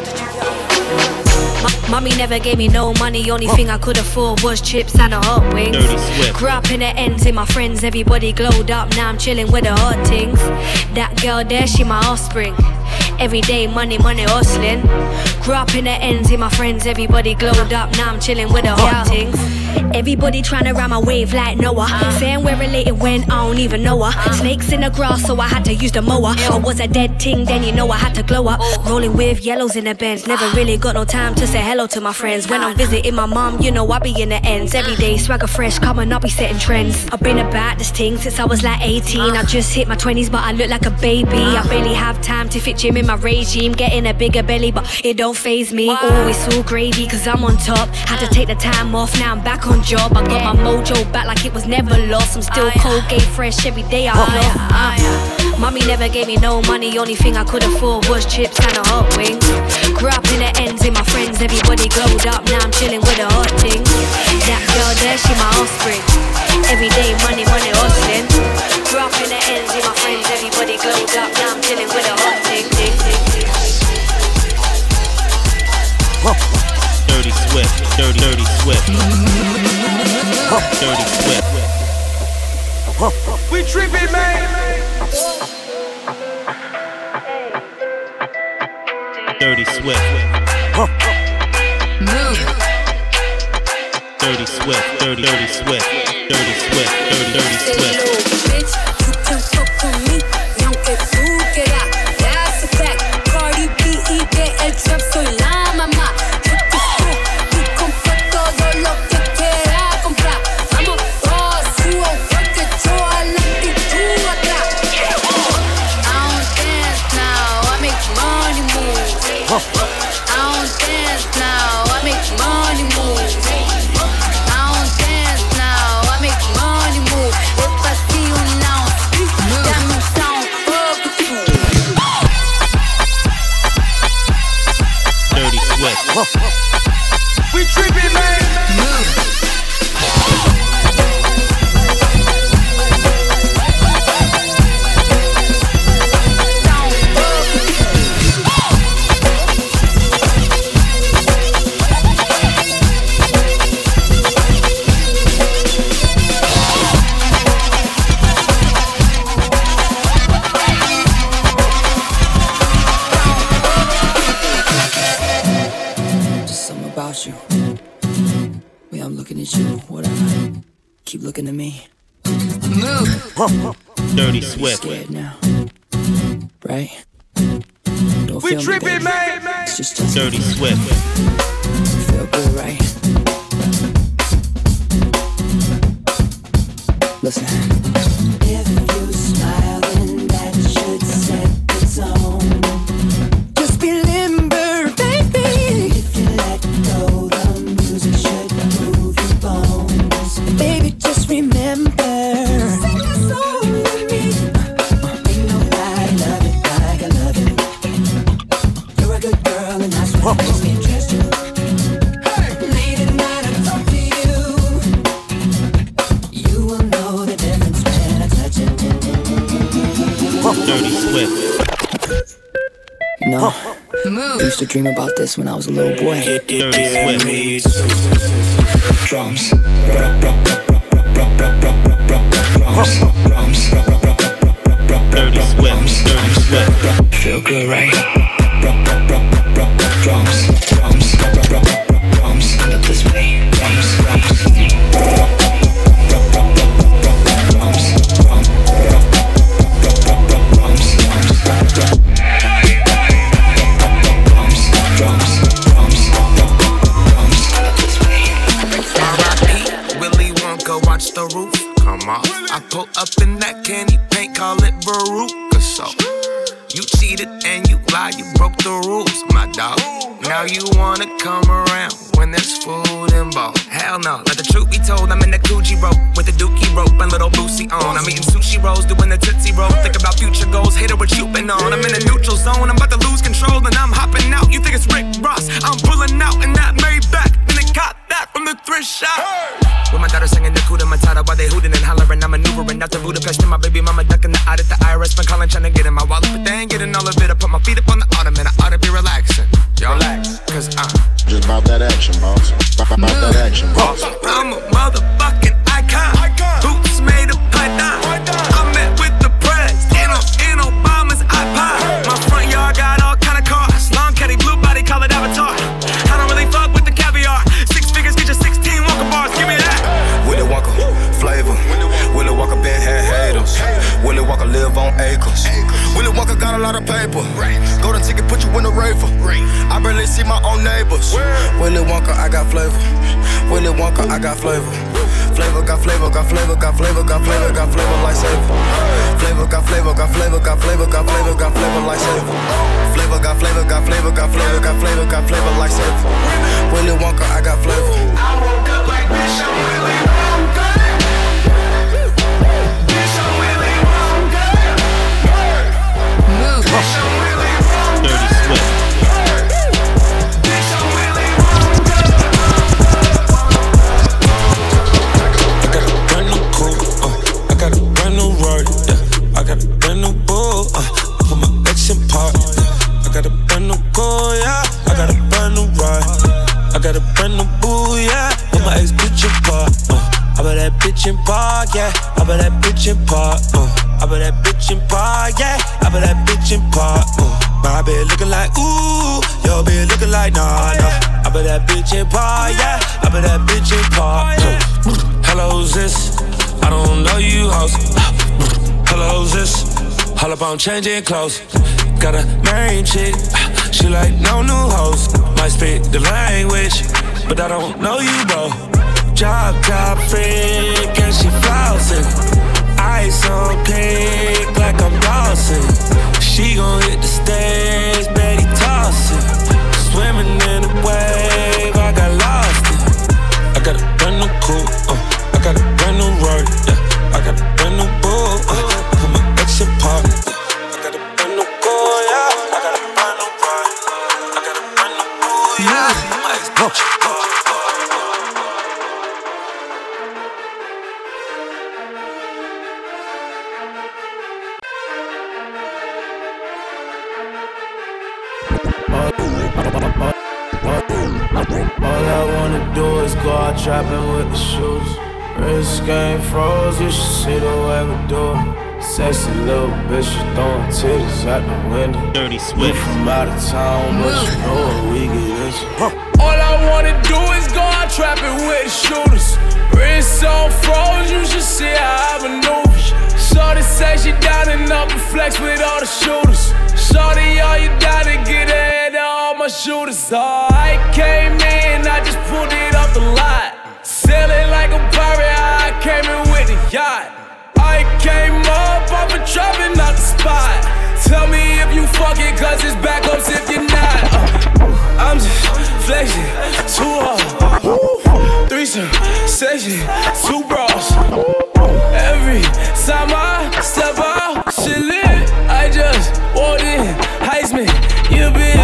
Mommy never gave me no money, only thing I could afford was chips and a hot wings. Grew up in the ends, in my friends, everybody glowed up. Now I'm chilling with the hot things. That girl there, she my offspring. Everyday money, money hustling. Grew up in the ends, in my friends, everybody glowed up. Now I'm chilling with the hot things. Everybody trying to ride my wave like Noah. Saying we're related when I don't even know her. Snakes in the grass, so I had to use the mower. I was a dead ting, then you know I had to glow up. Rolling with yellows in the Benz. Never really got no time to say hello to my friends. When I'm visiting my mom, you know I be in the ends. Every day swagger fresh, come and I'll be setting trends. I've been about this thing since I was like eighteen. I just hit my twenties, but I look like a baby. I barely have time to fit gym in my regime. Getting a bigger belly, but it don't faze me. Always all gravy, cause I'm on top. Had to take the time off, now I'm back on job. I got my mojo back like it was never lost. I'm still Colgate fresh every day I vlog. uh. Mommy never gave me no money, only thing I could afford was chips and a hot wings. Grew up in the ends, in my friends, everybody glowed up. Now I'm chilling with the hot things. That girl there, she my offspring. Everyday money, money hustling. Grew up in the ends, in my friends, everybody glowed up. Now I'm chilling with the hot things. Dirty Swift, dirty, dirty Swift. Dirty Swift. We trippin', man. Dirty Swift. Dirty Swift, dirty, dirty Swift. Dirty Swift, dirty, dirty Swift. Bitch, you can fuck with me, y aunque tú quieras, that's a fact. Cardi B y del trap soy la mamá. I don't dance now, I make money move. I don't dance now, I make money move. If I see you now, that means I don't fuck with you. Dirty Swift. We trippin', man. You. Way I'm looking at you, whatever. Keep looking at me. Move. Dirty Swift. You're scared now, right? Don't we feel trippin', me, man. It's just, just Dirty Swift. Feel good, right? Listen. If you smile, then that should set the tone. Just be limber, baby. If you let go, the music should move your bones. Baby, just remember. Sing a song with me. Ain't nobody love it like I love it. You're a good girl, and that's what makes me trust you. Late at night, I talk to you. You will know the difference when I touch it. Dirty Swift. You know, I used to dream about this when I was a little boy. Dirty Swift. Drums. Dirty Swift. Dirty Swift. Feel good, right? Drums. Drums. Drums. Look this way. Drums. Drums. Willy Wonka, watch the roof come off. I pull up in that candy paint, call it Veruca. So you cheated and you lied, you broke the rules, my dog. Now you wanna come around when there's food involved. Hell no, let the truth be told, I'm in the Gucci rope with the dookie rope and little Boosie on. I'm eating sushi rolls, doing the Tootsie Roll. Think about future goals, hit it what you been on. I'm in a neutral zone, I'm about to lose control and I'm hopping out. You think it's Rick Ross, I'm pulling out in that Maybach. Then it caught that from the thrift shop. With my daughter singing the Kuda Matata while they hooting and hollering. I'm maneuvering out to Budapest and my baby mama ducking the out at the I R S. Been calling trying to get in my wallet, but they ain't getting all of it. I put my feet up on the ottoman, I ought to be relaxing. Yo, relax, cause I'm just about that action, boss. About that action, boss. I'm a motherfucking icon. Boots made of python. I met with the president in Obama's iPod. My front yard got all kind of cars. Long caddy, blue body, call it Avatar. I don't really fuck with the caviar. Six figures, get your sixteen Walker bars. Give me that. Willy Wonka, flavor. Willy Wonka been had haters. Willy Wonka live on acres. Willy Wonka got a lot of paper. Golden ticket put you in the raver. I barely see my own neighbors. Willy Wonka, I got flavor. Willy Wonka, I got flavor. Flavor, got flavor, got flavor, got flavor, got flavor, got flavor, lifesaver. Flavor, got flavor, got flavor, got flavor, got flavor, got flavor, lifesaver. Flavor, got flavor, got flavor, got flavor, got flavor, got flavor, lifesaver. Willy Wonka, I got flavor. I woke up like this, I'm Willy Wonka. Bitch, I'm Willy Wonka. Move. Bitch, I'm Willy Wonka. Dirty Swift. Bitch, I'm Willy Wonka. I got a brand new coupe, uh, I got a brand new Rari, yeah. I got a brand new bull, uh, I put my ex in park, yeah. I got a brand new car, yeah. I got a brand new ride, I got a brand new boo, yeah. Put my ex bitch in park, uh, I bet that bitch in park, yeah. I bet that bitch in park, uh, I bet that bitch in park, yeah. I bet that bitch in park, uh. My bitch looking like ooh, your bitch looking like nah, nah. I bet that bitch in park, yeah. I bet that bitch in park. Uh. Hello, who's this? I don't know you, hoes. Hello, who's this? All up on changing clothes. Got a main chick, she like no new hoes. Might speak the language, but I don't know you, bro. Drop top freak and she flossing. Ice on pink like I'm Dawson. She gon' hit the stage, Betty tossing. Swimming in the wave, I got lost it. I got a brand new coupe, uh, I got a brand new Rari, yeah. I got a brand new bull, uh, put my ex in park. I got a brand new car, yeah. I got a brand new ride. I got a brand new bull, yeah. My ex bitch. All I wanna do is go out trapping with the shoes. Wrist game froze, you should see the way we do it. Sexy little bitch, she throwing titties out the window. Dirty Swift. We from out of town, but you know what we get into. All I wanna do is go out trapping with the shooters. Wrist on froze, you should see how I maneuver. Shorty say she down and up and flex with all the shooters. Shorty, all you down to get ahead of all my shooters. Oh, I came in, I just pulled it off the lot. Sailing like a pirate, I came in with the yacht. I came up off a trapping out the spot. Tell me if you fuck it, cause it's backups if you're not. uh, I'm just flexing, too hard. Threesome, section, two bras. Every time I step out, shit lit. I just walked in, Heisman, you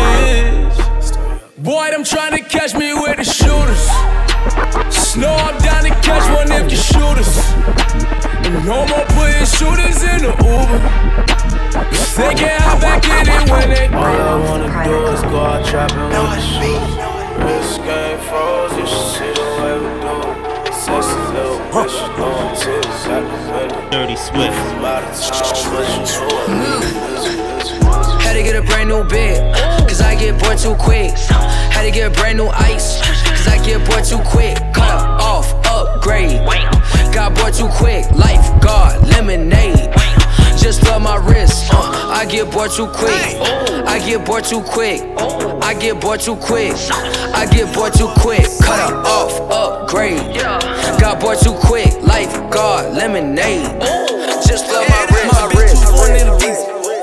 bitch. Boy, I'm trying to catch me with the shooters. Snow, I'm down to catch one if you shoot us. No more putting shooters in the Uber. They can't hop back in it when they. All I wanna do is go out trapping with the shoes. Wrist game froze, you should see the way we do it. Sexy little bitch, she throwing titties out the window. Dirty Swift. From out of town, but you know what we get into. Had to get a brand new bed, cause I get bored too quick. Had to get a brand new ice, cause I get bored too quick. Cut off, upgrade. Got bored too quick. Lifeguard, lemonade. Just rub my wrist. Uh, I get bored too quick. I get bored too quick. I get bored too quick. I get bored too quick. Cut off, upgrade. out, boy, too quick. Lifeguard, lemonade. Just love my wrist. My bitch too foreign in the visa.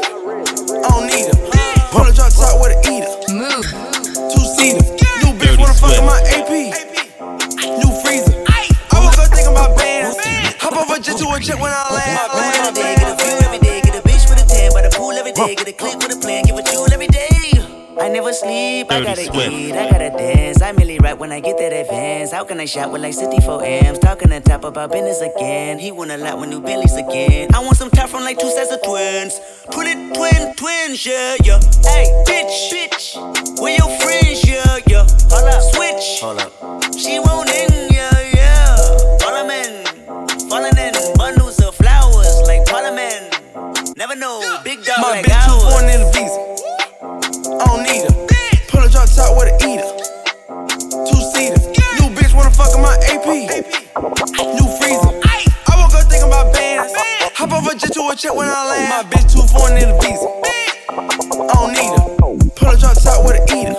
I don't need her. Pull a drop top with a eater. Move. Two seater. New bitch wanna fuck in my A P. New freezer. I woke up thinking about bands. Hop over jet to a jet when I land. Every day, get a view every day, get a bitch with a tan by the pool every day, get a click with a plan, give a jewel every day. I never sleep, I gotta eat, I gotta dance. I merely rap when I get that advance. How can I shop with like sixty-four amps? Talking on top about business again. He want a lot with new Bentleys again. I want some top from like two sets of twins. Twin, twin, twins, yeah, yeah. Hey, bitch, bitch, where your friends, yeah, yeah. Hold up, switch, hold up. She won't in, yeah, yeah. Follow men, falling in bundles of flowers like Parliament. Never know, big dog my like bitch too ours. foreign in the visa. I don't need her. Pull a drop top with a eater. Two seater. New bitch wanna fuck in my A P. New freezer. I woke up thinking about bands. Hop over jet to a check when I land. My bitch too foreign in the visa. I don't need her. Pull a drop top with a eater.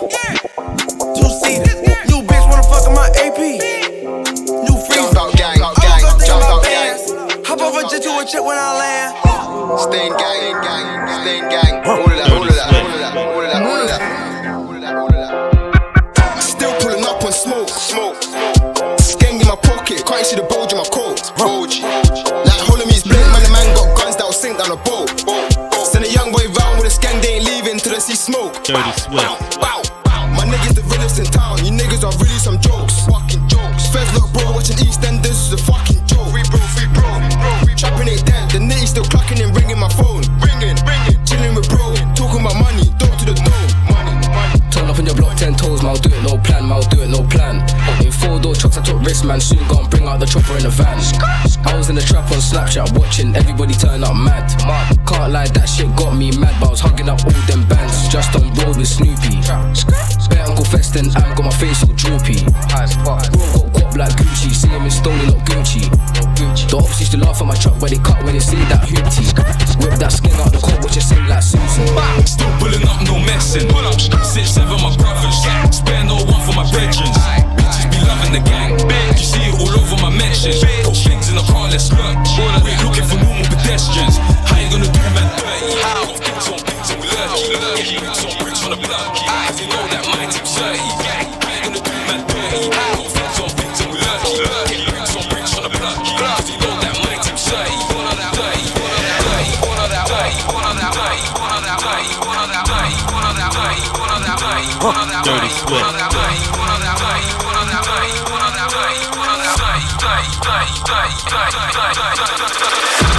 Two seater. New bitch wanna fuck in my A P. New freezer. I woke up thinking about bands. Hop over jet to a check when I land. Stain gang, gang, stain gang. All of that, all of that, all of that, all of that, all of that, all of that, all of that. Still pulling up on smoke, smoke. Skeng in my pocket, can't you see the bulge in my coat? Bulge. Like holding me's blade, man, the man got guns that will sink down a boat. Send a young boy round with a skeng, they ain't leaving till they see smoke. Dirty Swift. Wow, wow. My niggas the realest in town, you niggas are really some jokes. Fucking jokes. Feds look bro, watching EastEnders is a fucking joke. Free bro, free bro, free bro. Trapping it dead, the nitty still clocking and ringing my phone. Ringing, ringing. Chilling with bro, talking about money, dope to the dome. Money, money. Turn up on your block, ten toes, man, do it, no plan, man, do it, no plan. In four door trucks, I took risks, man, soon gone, bring out the chopper in the van. I was in the trap on Snapchat, watching everybody turn up mad. Can't lie, that shit got me mad, but I was hugging up all them bands, just on road with Snoopy. Bear Uncle Feston, I'm got my face all droopy. Bro got guap like Gucci, see him in Stony, not Gucci. The ops used to laugh at my truck when they cut, when they see that hoopty. Whip that skin out the coat, watch it sing like Susan. Still pulling up, no messing. Six, seven, my brothers. Spare no one for my veterans. Bitches be loving the gang. You see it all over my mentions. Got things in the car, let's look. We're looking for normal pedestrians. How you gonna do man dirty? Got things on things and we lurky. Bricks on bricks on the block. As you know that my team's thirty. How you gonna do man dirty? Got things on things and we lurky. Bricks on bricks on the block. As you know that my team's thirty. One of that way, one of that way, one of that way, one of that way, one of that way, one of that way, one of that way, one of that way, one of that way, Dirty Swift. one of that way, one of that way, one of that way, one of that way, one of that way, day, day, day, day, day, day.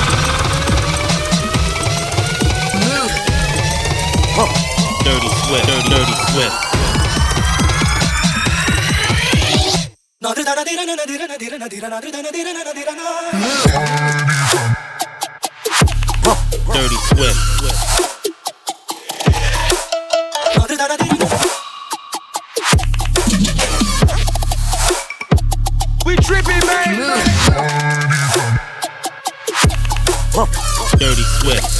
Dirty Swift, dirty, dirty Swift. Dirty Swift. We tripping, man. Dirty Swift.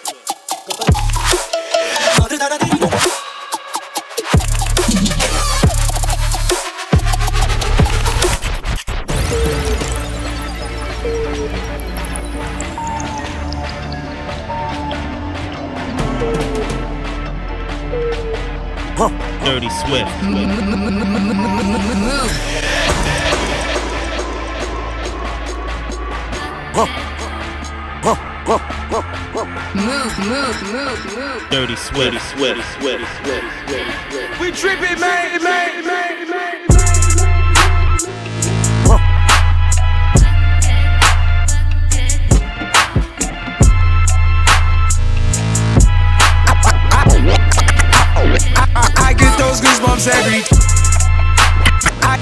Dirty Swift. Move, move, move, move. Dirty Swift, Swift, Swift, Swift, Swift. We tripping, man, man, man, man. I get those goosebumps every I,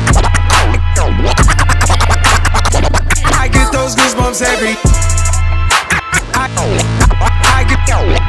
I get those goosebumps every I, I get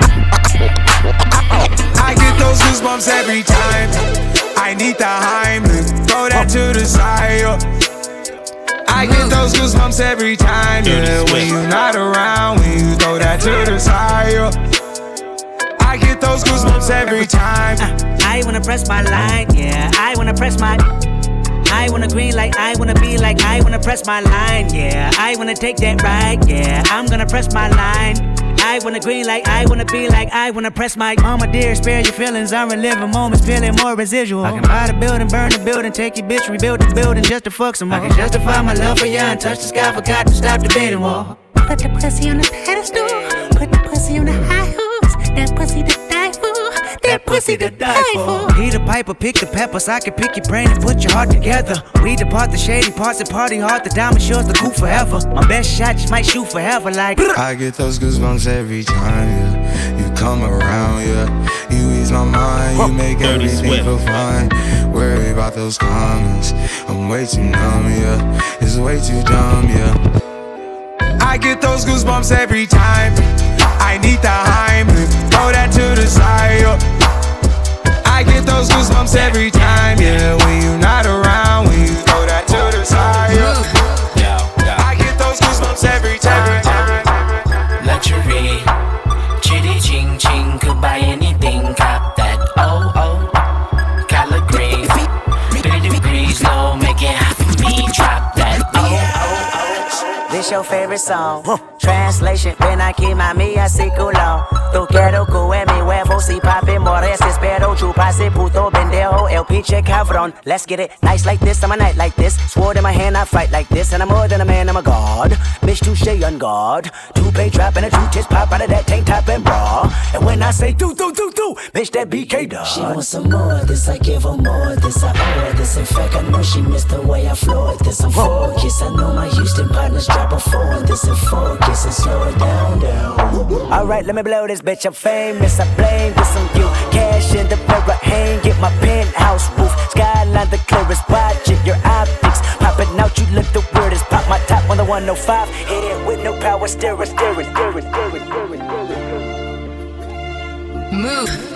I get those goosebumps every time. I need the Heimlich, throw that to the side. I get those goosebumps every time, yeah. When you're not around, when you throw that to the side. I get those goosebumps every time. uh, I wanna press my line, yeah. I wanna press my I wanna green like I wanna be like I wanna press my line, yeah. I wanna take that ride, yeah. I'm gonna press my line. I wanna green like I wanna be like I wanna press my mama dear, spare your feelings. I'm reliving moments, feeling more residual. I can buy the building, burn the building, take your bitch, rebuild the building just to fuck some more. I can justify my love for you and touch the sky, forgot to stop the debating war. Put the pussy on the pedestal, put the pussy on the high horse. That pussy to die for, that pussy to die for. He the piper, pick the peppers. I can pick your brain and put your heart together. We depart the shady parts and party hard. The diamond shows the coup forever. My best shot just might shoot forever like I get those goosebumps every time, yeah. You come around, yeah. You ease my mind, you make everything feel fine. Worry about those comments, I'm way too numb, yeah. It's way too dumb, yeah. I get those goosebumps every time. I need the Heimlich, throw that to the side, yeah. I get those goosebumps every time, yeah. When you're not around, when you throw that to the side, yeah. I get those goosebumps every time. Luxury, chitty ching ching, could buy anything, cop that. Oh oh, color green, three degrees low, make it hot for me, drop that. Oh oh oh. This your favorite song. Translation, ven aquí mami así culo. Tú quiero que mi huevo si papi mores. Espero chupase puto pendejo el pinche cabrón. Let's get it nice like this, I'm a night like this. Sword in my hand, I fight like this. And I'm more than a man, I'm a god. Bitch, touche on guard. Two-pay trap and a two tits pop out of that tank top and bra. And when I say do, do, do, do, bitch, that B K dog. She wants some more of this, I give her more of this. I owe her this. In fact, I know she missed the way I floored this. I'm focused, I know my Houston partners drop a four on this and focus and slow it down, down. Alright, let me blow this bitch, I'm famous, I blame this on you. Cash in the mirror, hang, get my penthouse roof. Skyline the clearest, watch it, your optics popping out, you look the weirdest. Pop my top on the one oh five, hit it with no power, steering, steering, steering, steering, steering, steering. Move.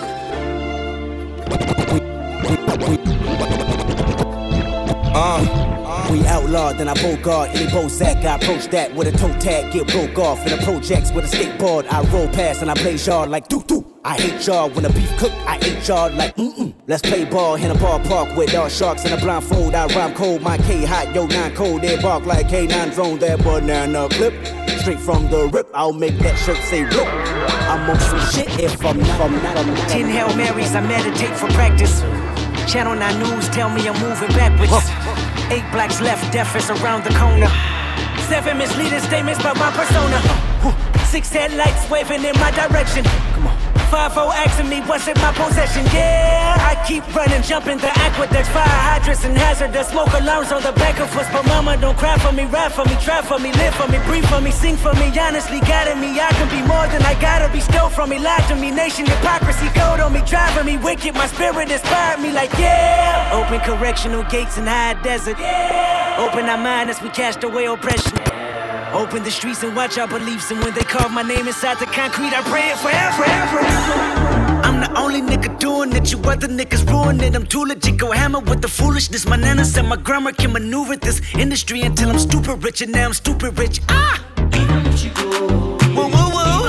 Uh. We outlawed, then I bogart any Bozak. I approach that with a toe tag, get broke off. In the projects with a skateboard, I roll past and I blaze yard like doo doo. I hate y'all when the beef cook, I ate y'all like mm-mm. Let's play ball in a ballpark with all sharks in a blindfold. I rhyme cold, my K hot, yo nine cold. They bark like K nine drone, that banana clip. Straight from the rip, I'll make that shirt say rip. I'm on some shit if I'm not, I'm not, I'm not. Ten Hail Marys, I meditate for practice. Channel nine News tell me I'm moving backwards. Eight blacks left, death is around the corner. Seven misleading statements by my persona. Six headlights waving in my direction. Come on. Five oh asking me what's in my possession. Yeah, I keep running, jumping the aqueducts, fire hydrants and hazardous smoke alarms on the back of us. But mama, don't cry for me, rap for me, try for me, live for me, breathe for me, sing for me. Honestly, guiding me, I can be more than I gotta be. Stole from me, lied to me, nation hypocrisy, code on me, driving me wicked. My spirit inspired me like yeah. Open correctional gates in high desert. Yeah. Open our mind as we cast away oppression. Open the streets and watch our beliefs. And when they carve my name inside the concrete, I pray it forever, forever. I'm the only nigga doing it, you other niggas ruin it. I'm too legit, go hammer with the foolishness. My nana said my grammar can maneuver this industry until I'm stupid rich. And now I'm stupid rich, ah! Whoa, whoa,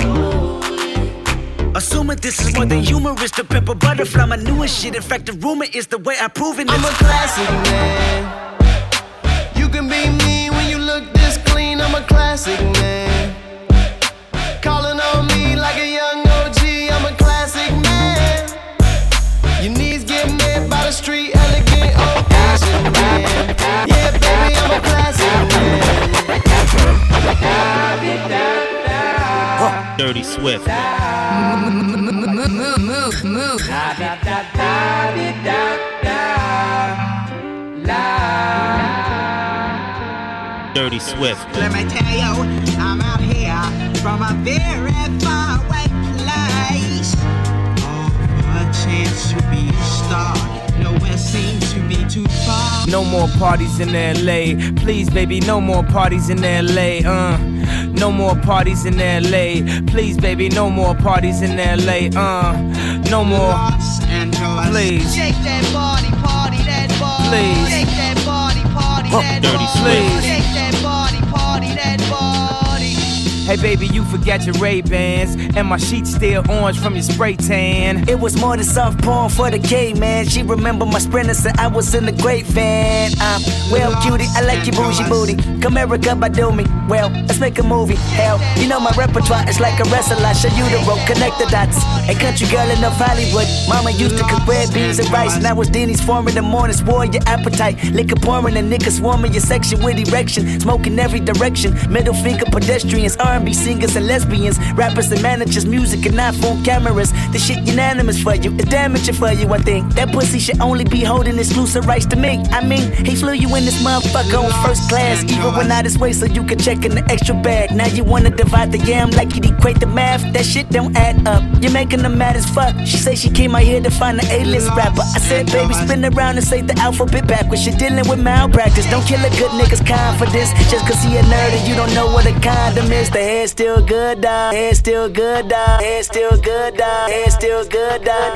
whoa. Assuming this is more than humorous, the pepper butterfly, my newest shit. In fact, the rumor is the way I prove it. I'm a classic man. You can be me when you look this clean. I'm a classic man. Calling on me like a young O G. I'm a classic man. Your knees get met by the street, elegant old fashioned man. Yeah, baby, I'm a classic man. Dirty Swift. Move, move, move, move. Dirty Swift. Let me tell you, I'm out here from a very far away place. Oh, for a chance to be a star. Nowhere seems to be too far. No more parties in L A. Please, baby, no more parties in L A. Uh, no more parties in L A. Please, baby, no more parties in L A. Uh, no more. Los Angeles. Please. Shake that body, party that body. Please. Shake that body, party that Dirty body. Please. Shake that body, party that body. Hey baby, you forgot your Ray-Bans, and my sheets still orange from your spray tan. It was more than soft porn for the K, man. She remember my sprinter, said I was in the great van. Um, well, cutie, I like your bougie booty. Come Erica, by do me. Well, let's make a movie. Hell, you know my repertoire is like a wrestler. I show you the rope, connect the dots. A country girl in North Hollywood. Mama used to cook red beans and rice. Now it's Denny's farm in the morning, swore your appetite. Liquor pouring and niggas swarming your section with erection. Smoking every direction. Middle finger pedestrians, R and B singers and lesbians, rappers and managers, music and iPhone cameras. This shit unanimous for you, it's damaging for you, I think. That pussy should only be holding exclusive rights to me. I mean, he flew you in this motherfucker on first class, even when out his way so you could check in the extra bag. Now you wanna divide the yam like you'd equate the math. That shit don't add up, you're making them mad as fuck. She say she came out here to find an A-list rapper. I said, baby, spin around and say the alphabet backwards. You're dealing with malpractice, don't kill a good nigga's confidence just cause he a nerd and you don't know what a condom is. The hair's still good, dog. Hair's still good, dog. Hair's still good, dog. Hair's still good, dog.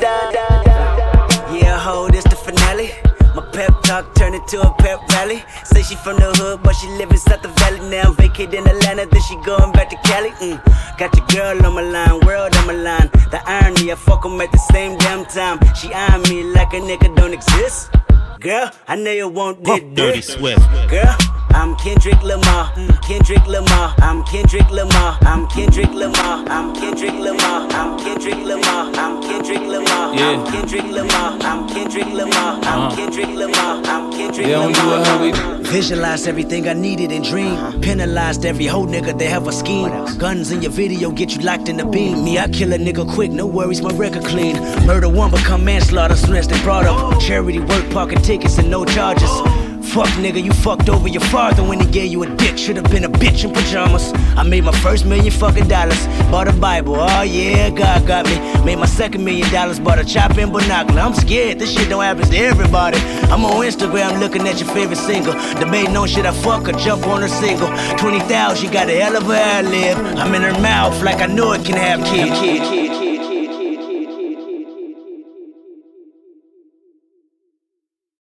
Yeah, ho, this the finale. My pep talk turned into a pep rally. Say she from the hood, but she live inside the valley. Now I'm vacating Atlanta, then she going back to Cali. Mm. Got your girl on my line, world on my line. The irony, I fuck 'em at the same damn time. She eyeing me like a nigga don't exist. Girl, I know you won't did Dirty Swift. Girl, I'm Kendrick Lamar, mm, Kendrick Lamar, I'm Kendrick Lamar, I'm Kendrick Lamar, I'm Kendrick Lamar, I'm Kendrick Lamar, I'm Kendrick Lamar, I'm Kendrick Lamar, I'm Kendrick Lamar, I'm Kendrick Lamar, I'm Kendrick Lamar. Visualize everything I needed and dreamed. Penalized every whole nigga that have a scheme. Guns in your video get you locked in the beam. Me, I kill a nigga quick, no worries, my record clean. Murder one become manslaughter soon as they brought up. Charity work, parking tickets and no charges. Fuck nigga, you fucked over your father when he gave you a dick. Should've been a bitch in pajamas. I made my first million fucking dollars. Bought a Bible, oh yeah, God got me. Made my second million dollars, bought a chop and binocular. I'm scared, this shit don't happen to everybody. I'm on Instagram looking at your favorite single. Debating on shit I fuck or jump on her single. twenty thousand, she got a hell of a ad lib. I'm in her mouth like I know it can have kids. Kid, kid.